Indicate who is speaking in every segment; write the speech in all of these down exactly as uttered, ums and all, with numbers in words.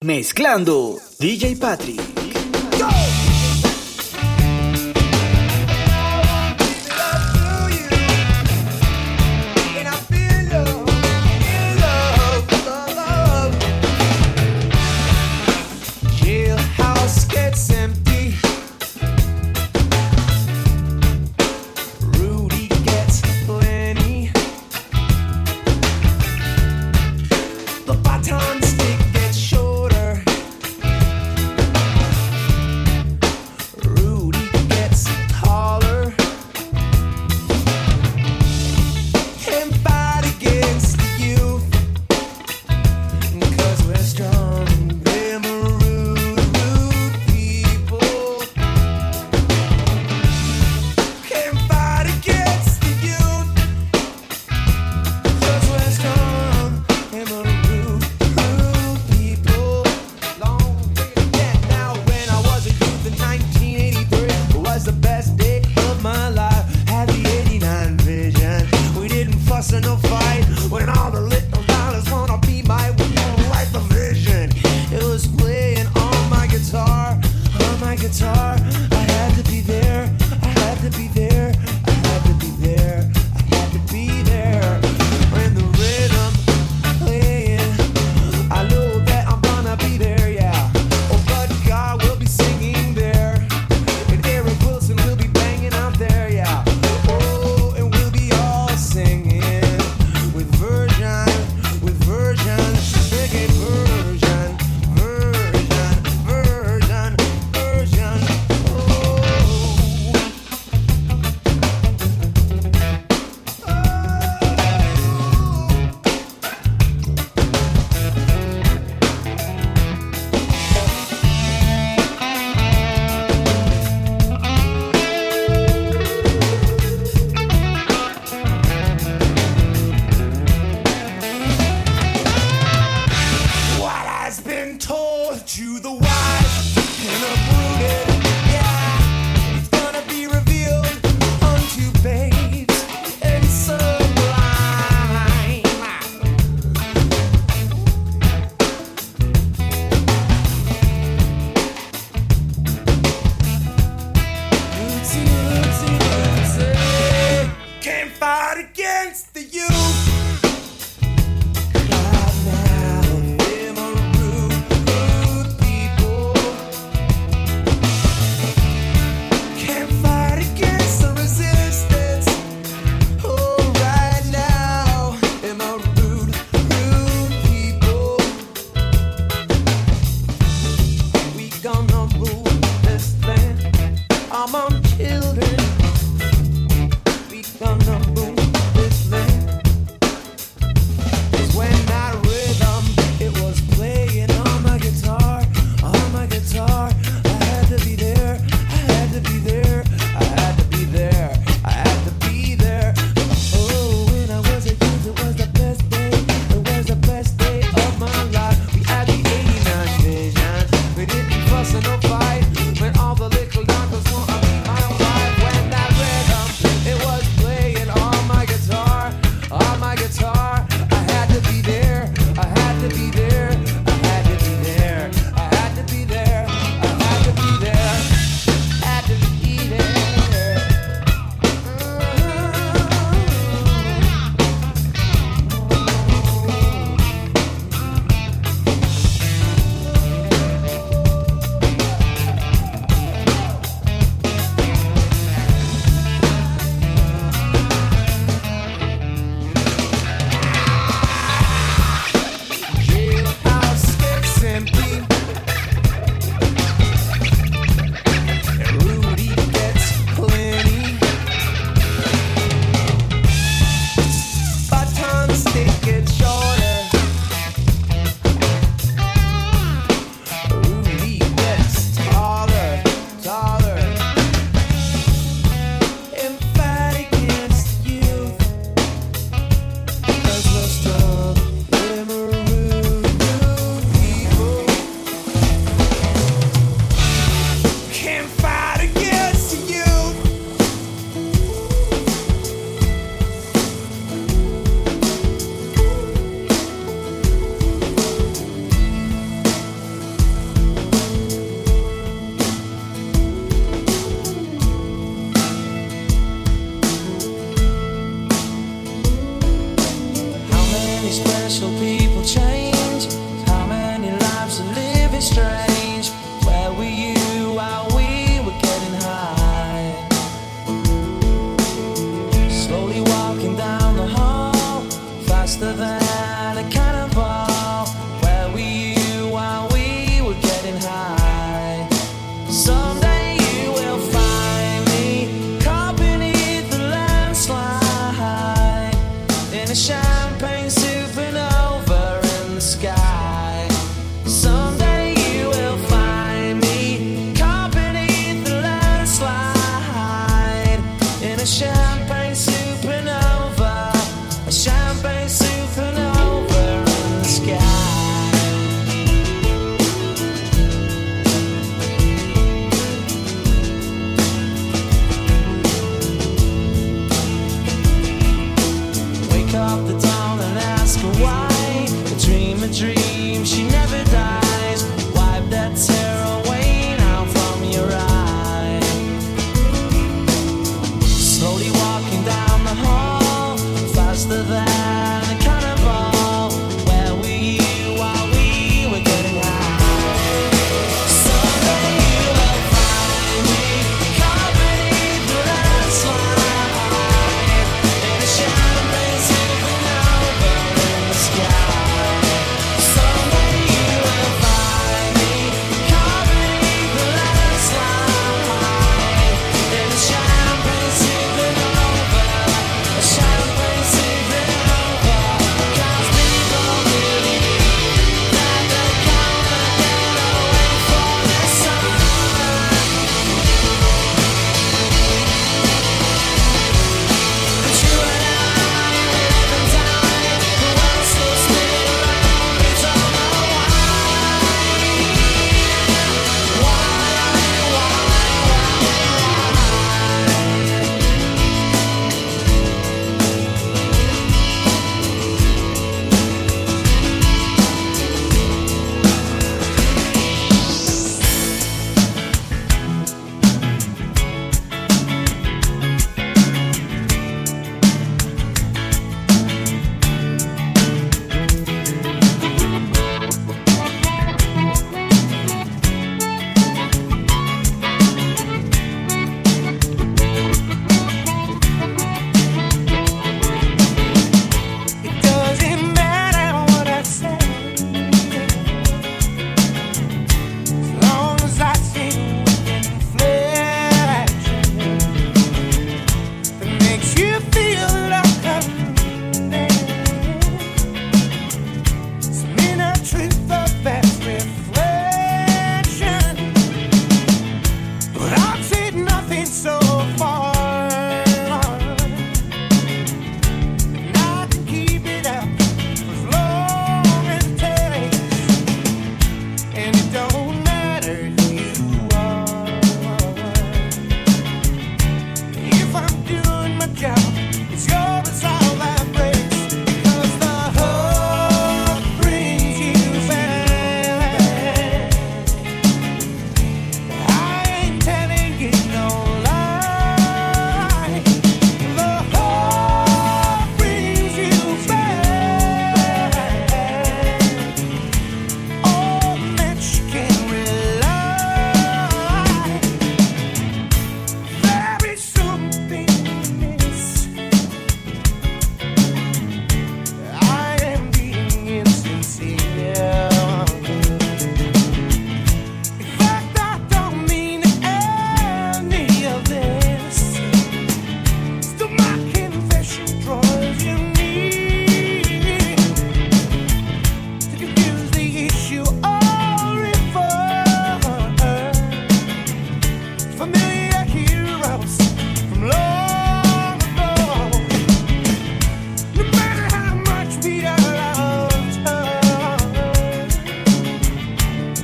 Speaker 1: Mezclando D J Patrick.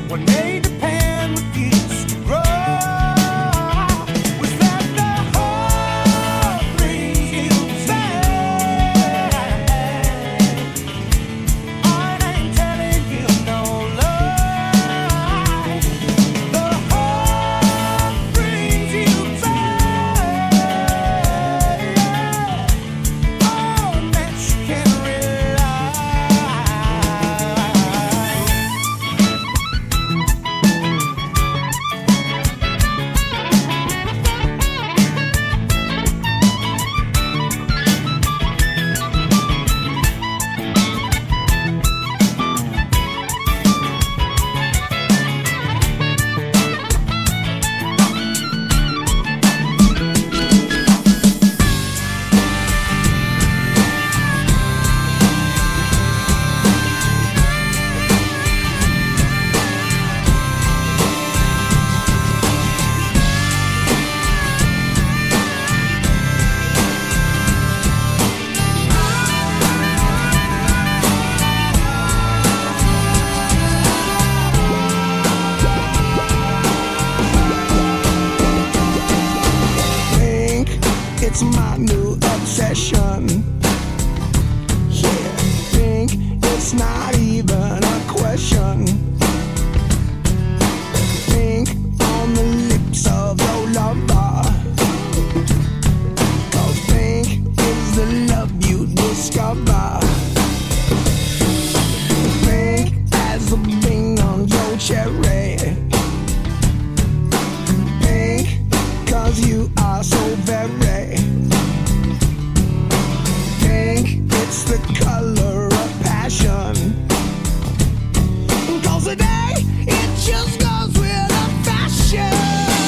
Speaker 2: what made the pan refuse to grow. Was that the whole thing you said? I ain't telling you no lie. The whole thing you said. On that you can rely. Think it's my new obsession. Yeah, think it's not even a question. Think on the lips of your lover. 'Cause think is the love you discover. Think as the bing on your cherry. Think 'cause you are so very. Think it's the color of passion. 'Cause today it just goes with the fashion.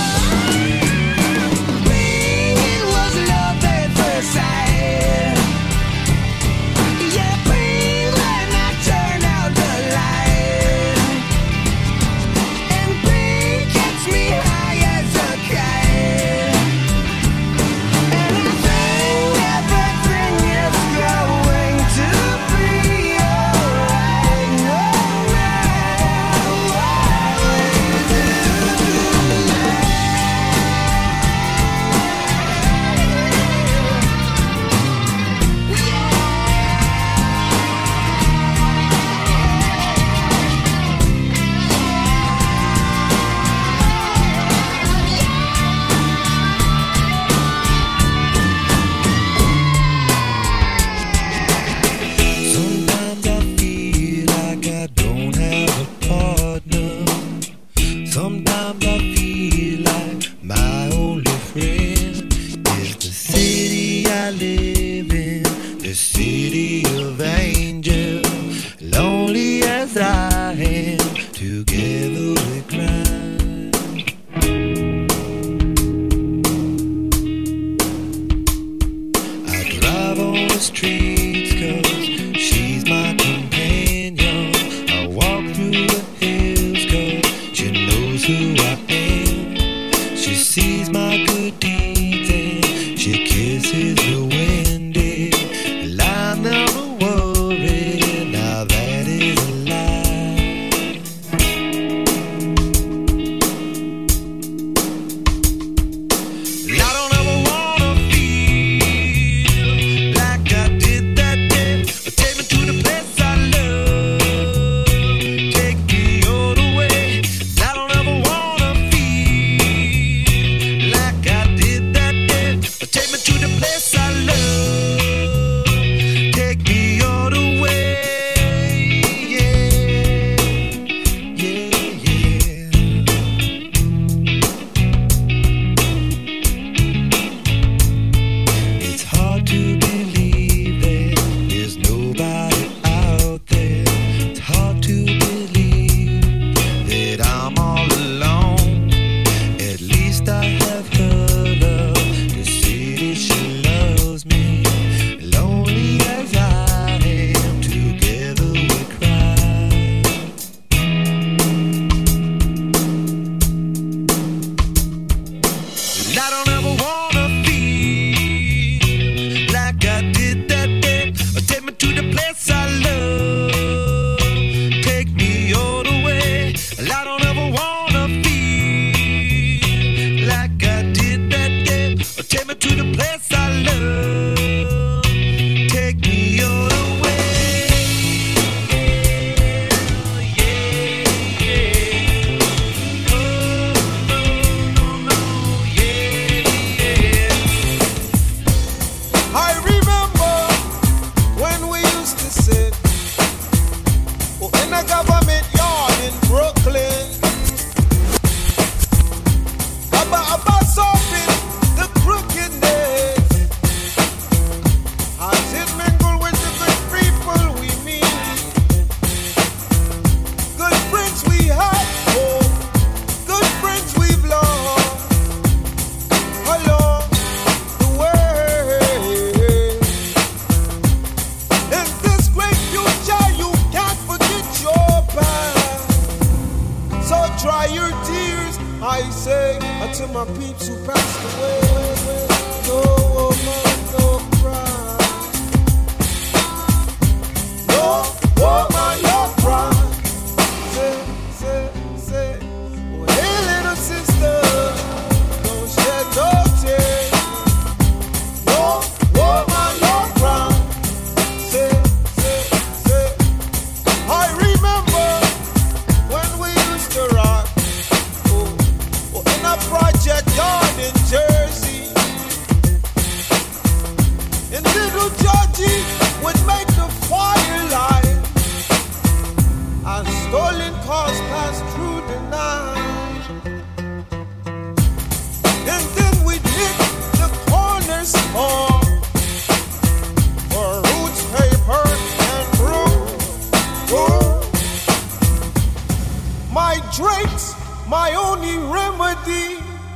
Speaker 2: Think it was love at first sight. Yeah, think when I turn out the light. And think gets me high as a kite. And I think everything is going to be alright. No matter what we do tonight. Sometimes I feel like I don't have a partner. Sometimes I feel like my only friend is the city I live in, the city of angels. Lonely as I am, together we cry. I drive on the streets 'cause she's my companion. I walk through the hills 'cause she knows who I am. She sees my good deeds and she kisses the wind. And I never worry, now that is a lie.
Speaker 3: dry your tears, I say, until my peeps who passed away. No woman, no cry. No woman, no cry. Say, say, say, oh hey little sister, don't shed no tears. No woman, no cry. Say, say, say, I remember when we used to rock, oh, oh, in a project yard in Jersey. And little Georgie would make the fire light as stolen cars passed through the night. And then we'd hit the corner store for roots, paper, and brew. brew. My drinks, my only remedy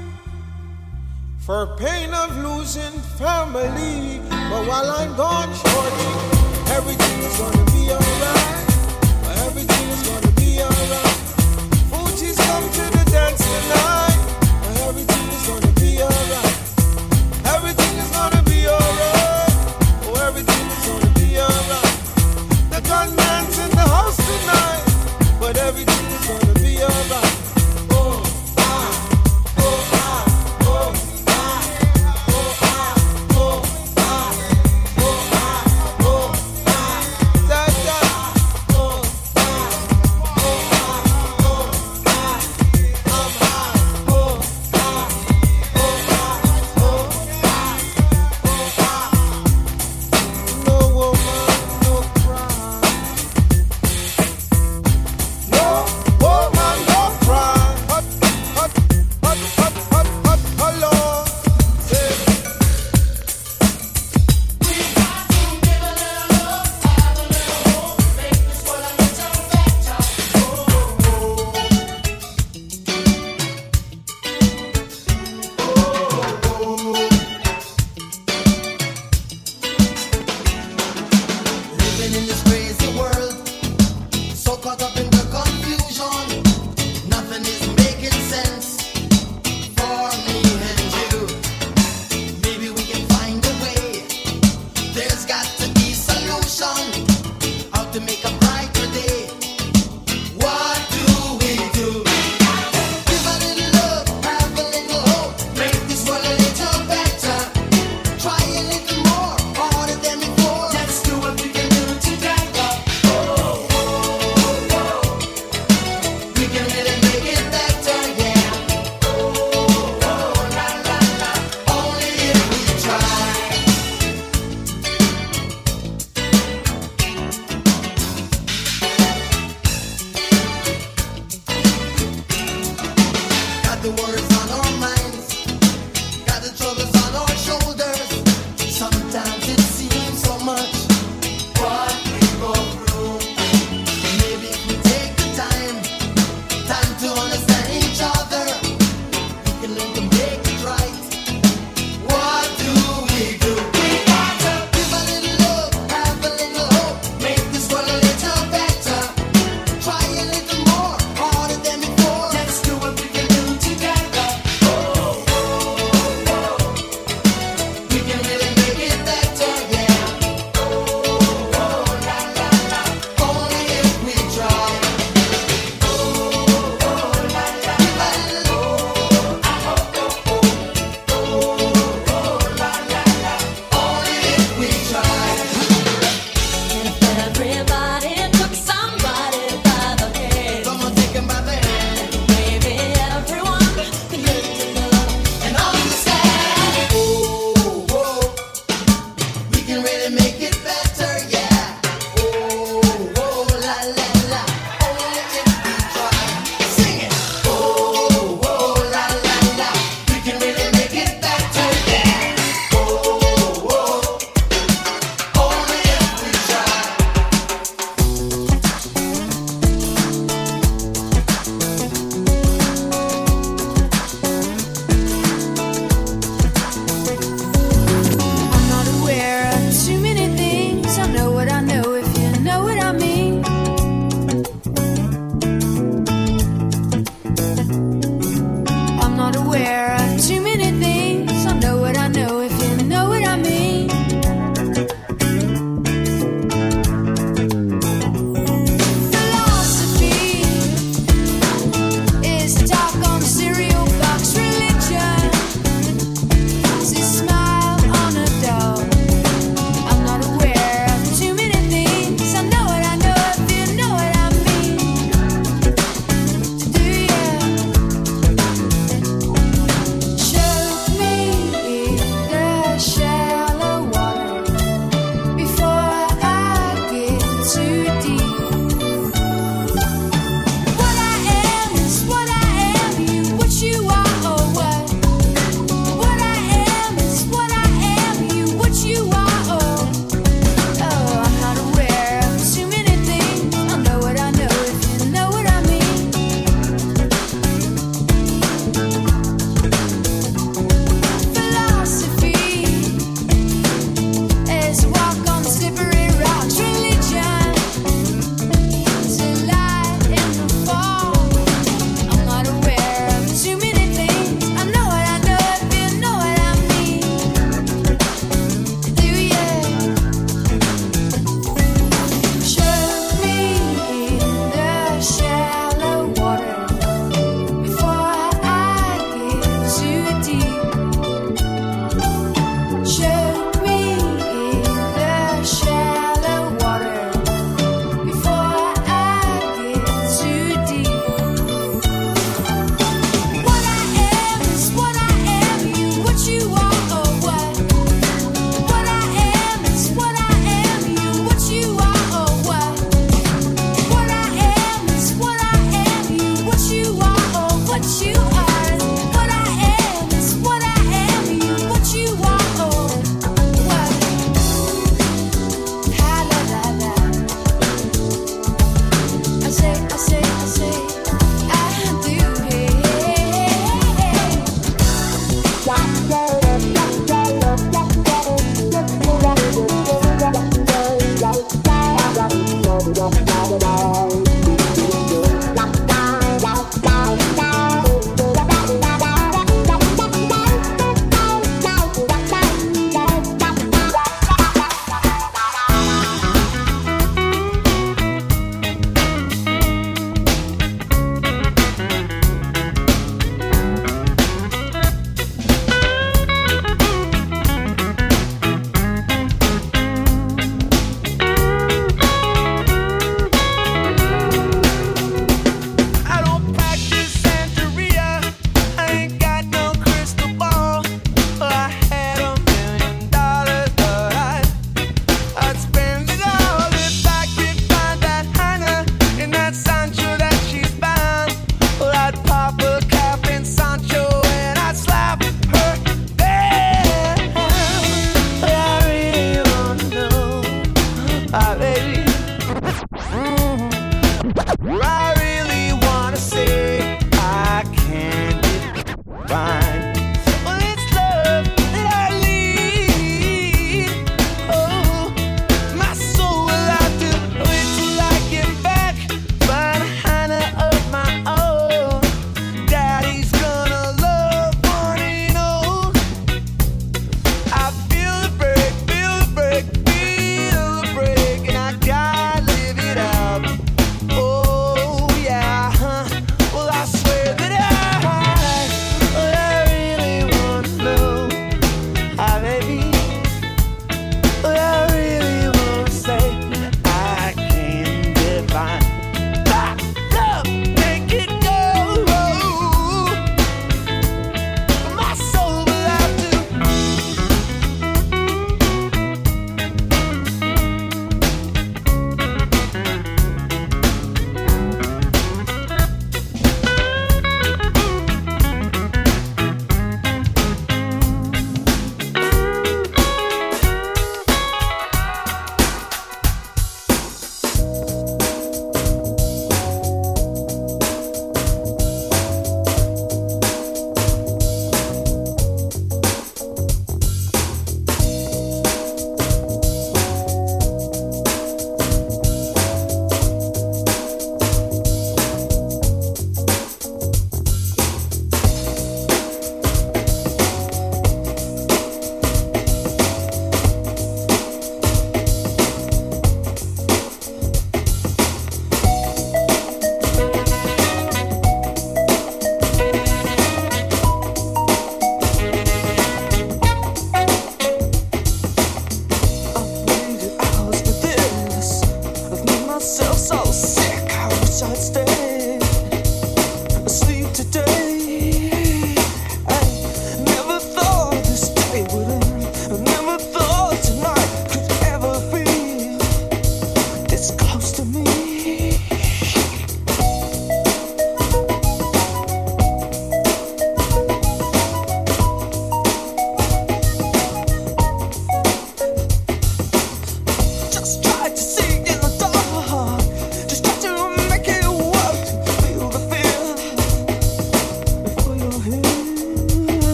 Speaker 3: for pain of losing family. But while I'm gone, shorty, everything is gonna be alright. Everything is gonna be alright. Fuji's come to the dance tonight. Everything is gonna be alright. Everything is gonna be alright. Oh, everything is gonna be alright. The gunman's in the house tonight, but everything is gonna be alright. Oh, I, oh, I, oh, I, oh, I, oh, I, oh, I, oh, I, da, da, oh, I, oh, I, oh, I, I'm high, oh, I, oh, I, oh, I, oh, I. No woman, no cry. No woman, no cry. Hot, hot, hot, hot, hot, hot, hello. Say,
Speaker 4: Living in this crazy world, so caught up in the confusion, nothing is making sense for me and you. Maybe we can find a way. There's got to be solution. How to make a brighter day. What do we do? Give a little love, have a little hope, make this world a little better. Try a little more, harder than before. Let's do what we can do together. Oh, oh, oh. We can really make it better, yeah. Oh, oh, la, la, la. Only if we try. Got the worries on our minds, got the troubles on our shoulders. Sometimes it seems so much what we go through. Maybe if we take the time, time to understand each other, we can learn to make it right. What do we do? We got to give a little love, have a little hope, make this world a little better. Try a little more, harder than before. Let's do what we can do together.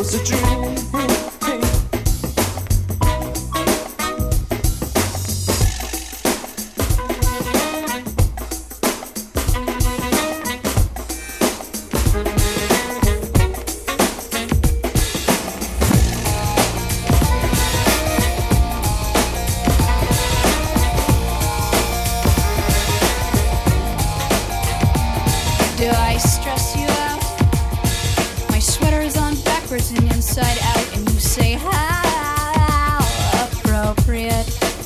Speaker 3: it's a dream.
Speaker 5: Do I stress you out? My sweater is on backwards and inside out, and you say how appropriate.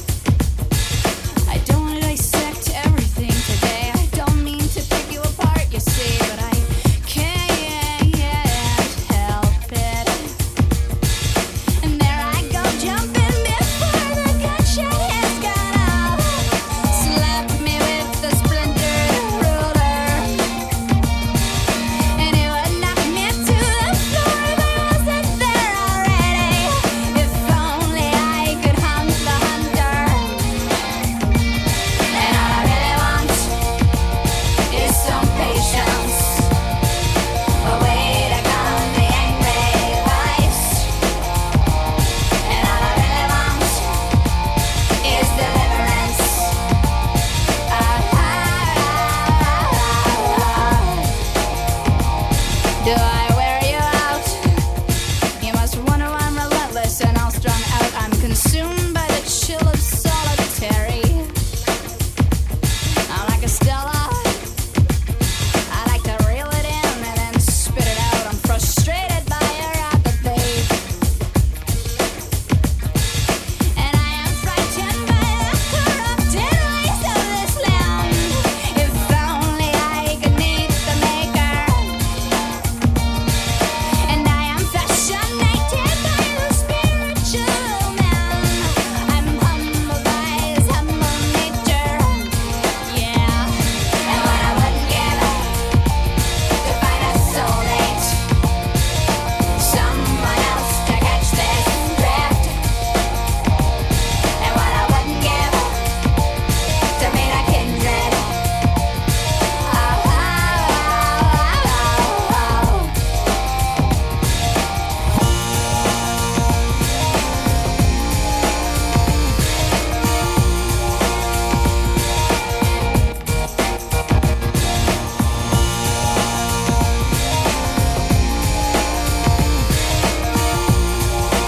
Speaker 5: I don't want to dissect everything today. I don't mean to pick you apart, you see, but I can't help it. And there I go jumping before the gunshot has gone off. Slap me with the splintered ruler. And it would knock me to the floor, but I wasn't there already. If only I could hunt the hunter. And all I really want is some patience, a way to calm the angry voice. And all I really want is deliverance. Do I wear you out? You must wonder why I'm relentless and all strung out. I'm consumed by the chill of solitary. I'm like a Stella. I like to reel it in and then spit it out. I'm frustrated by your apathy. And I am frightened by the corrupted ways of this land. If only I could meet the maker. And I am fascinated by the spiritual man. I'm humbled by his humble nature. Yeah. And what I wouldn't give to find a soulmate, someone else to catch this drift. And what I wouldn't give to meet a kindred. Oh, oh, oh, oh, oh.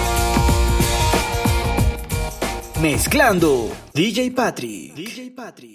Speaker 1: Mezclando D J Patrick. D J Patrick.